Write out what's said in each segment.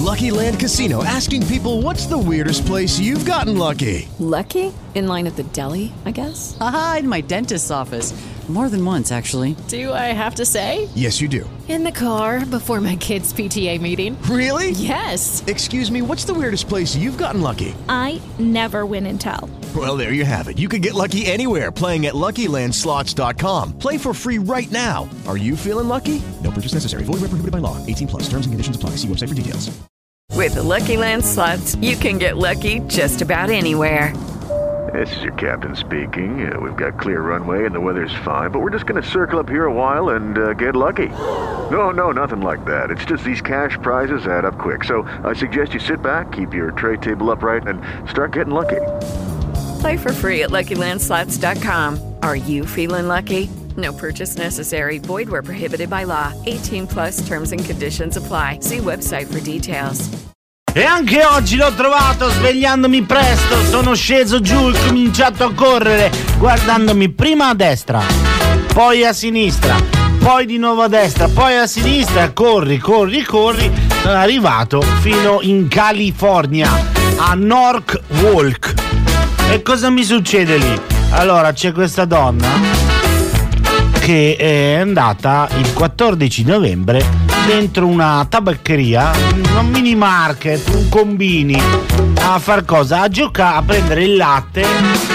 Lucky Land Casino, asking people, what's the weirdest place you've gotten lucky? Lucky? In line at the deli, I guess? Aha, in my dentist's office. More than once, actually. Do I have to say? Yes, you do. In the car before my kids' PTA meeting. Really? Yes. Excuse me, what's the weirdest place you've gotten lucky? I never win and tell. Well, there you have it. You can get lucky anywhere, playing at LuckyLandSlots.com. Play for free right now. Are you feeling lucky? No purchase necessary. Void where prohibited by law. 18+. Terms and conditions apply. See website for details. With the Lucky Land Slots, you can get lucky just about anywhere. This is your captain speaking. We've got clear runway and the weather's fine, but we're just going to circle up here a while and get lucky. No, nothing like that. It's just these cash prizes add up quick. So I suggest you sit back, keep your tray table upright, and start getting lucky. Play for free at LuckyLandSlots.com. Are you feeling lucky? No purchase necessary. Void where prohibited by law. 18+ terms and conditions apply. See website for details. E anche oggi l'ho trovato svegliandomi presto, sono sceso giù e ho cominciato a correre guardandomi prima a destra, poi a sinistra, poi di nuovo a destra, poi a sinistra, corri, sono arrivato fino in California, a Norwalk. E cosa mi succede lì? Allora c'è questa donna che è andata il 14 novembre dentro una tabaccheria, un mini market, un combini, a far cosa? A prendere il latte,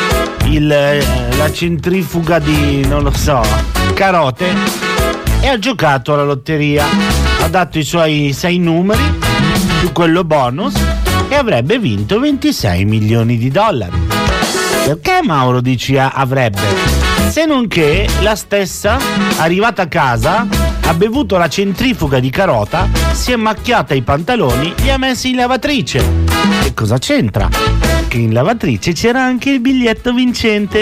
la centrifuga di, non lo so, carote, e ha giocato alla lotteria. Ha dato i suoi 6 numeri più quello bonus e avrebbe vinto 26 milioni di dollari. Perché Mauro dici avrebbe? Se non che la stessa, arrivata a casa, ha bevuto la centrifuga di carota, si è macchiata i pantaloni, li ha messi in lavatrice. E cosa c'entra? Che in lavatrice c'era anche il biglietto vincente.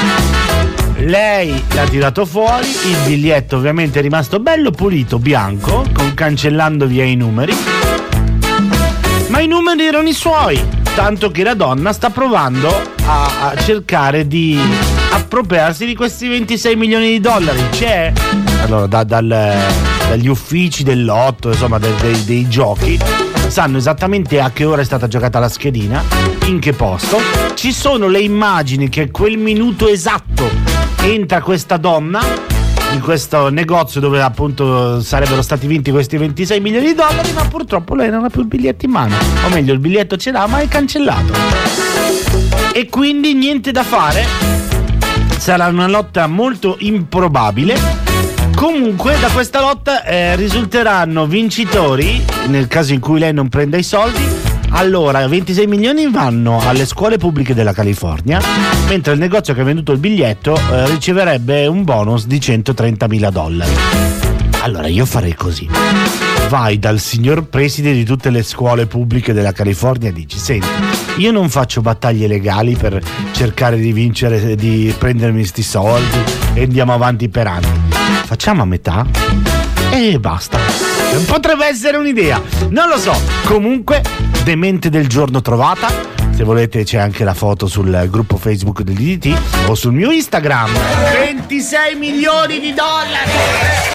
Lei l'ha tirato fuori, il biglietto ovviamente è rimasto bello pulito, bianco, cancellando via i numeri. Ma i numeri erano i suoi, tanto che la donna sta provando a cercare di appropriarsi di questi 26 milioni di dollari. C'è, allora, dagli uffici del lotto, insomma dei giochi, sanno esattamente a che ora è stata giocata la schedina, in che posto. Ci sono le immagini che quel minuto esatto entra questa donna in questo negozio dove appunto sarebbero stati vinti questi 26 milioni di dollari, ma purtroppo lei non ha più il biglietto in mano, o meglio il biglietto ce l'ha ma è cancellato, e quindi niente da fare. Sarà una lotta molto improbabile. Comunque da questa lotta risulteranno vincitori, nel caso in cui lei non prenda i soldi. Allora, 26 milioni vanno alle scuole pubbliche della California, mentre il negozio che ha venduto il biglietto riceverebbe un bonus di 130.000 dollari. Allora io farei così: vai dal signor preside di tutte le scuole pubbliche della California e dici: senti, io non faccio battaglie legali per cercare di vincere, di prendermi sti soldi e andiamo avanti per anni, facciamo a metà e basta. Potrebbe essere un'idea, non lo so. Comunque, demente del giorno trovata. Se volete c'è anche la foto sul gruppo Facebook dell'IDT o sul mio Instagram. 26 milioni di dollari!